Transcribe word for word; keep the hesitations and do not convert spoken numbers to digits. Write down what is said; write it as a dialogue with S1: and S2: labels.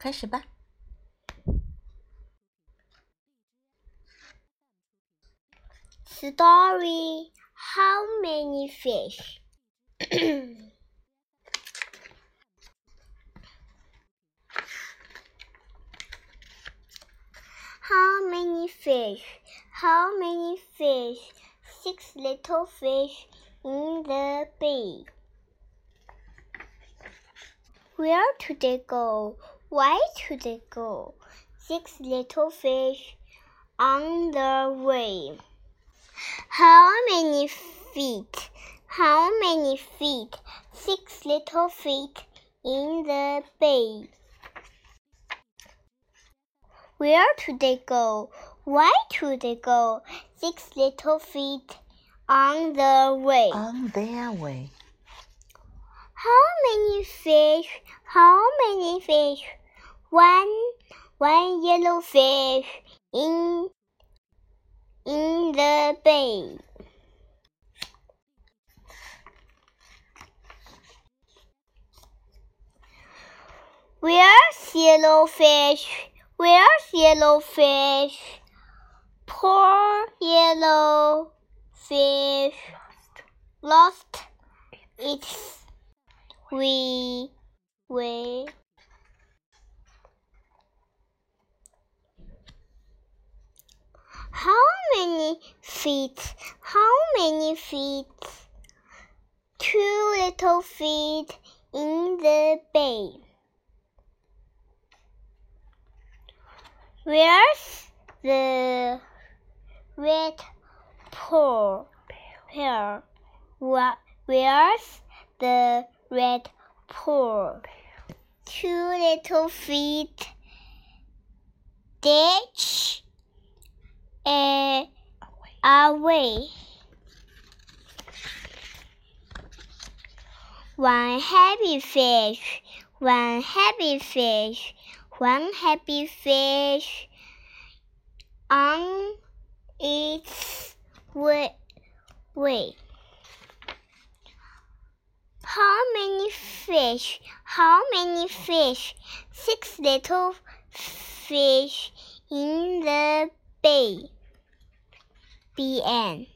S1: 开始吧。
S2: Story: How many fish? How many fish? How many fish? Six little fish in the bay. Where do they go? Why do they go? Six little fish on the way. How many feet? How many feet? Six little feet in the bay. Where do they go? Why do they go? Six little feet on the way.
S1: On their way.
S2: How many fish? How many fish? One, one yellow fish in, in the bay. Where's yellow fish? Where's yellow fish? Poor yellow fish lost its way. way. How many feet? How many feet? Two little feet in the bay. Where's the red pearl? pearl? Where's the red pearl? Two little feet ditch a away. One happy fish, one happy fish, one happy fish on its way. way. How many fish? How many fish? Six little fish in the bay. The end.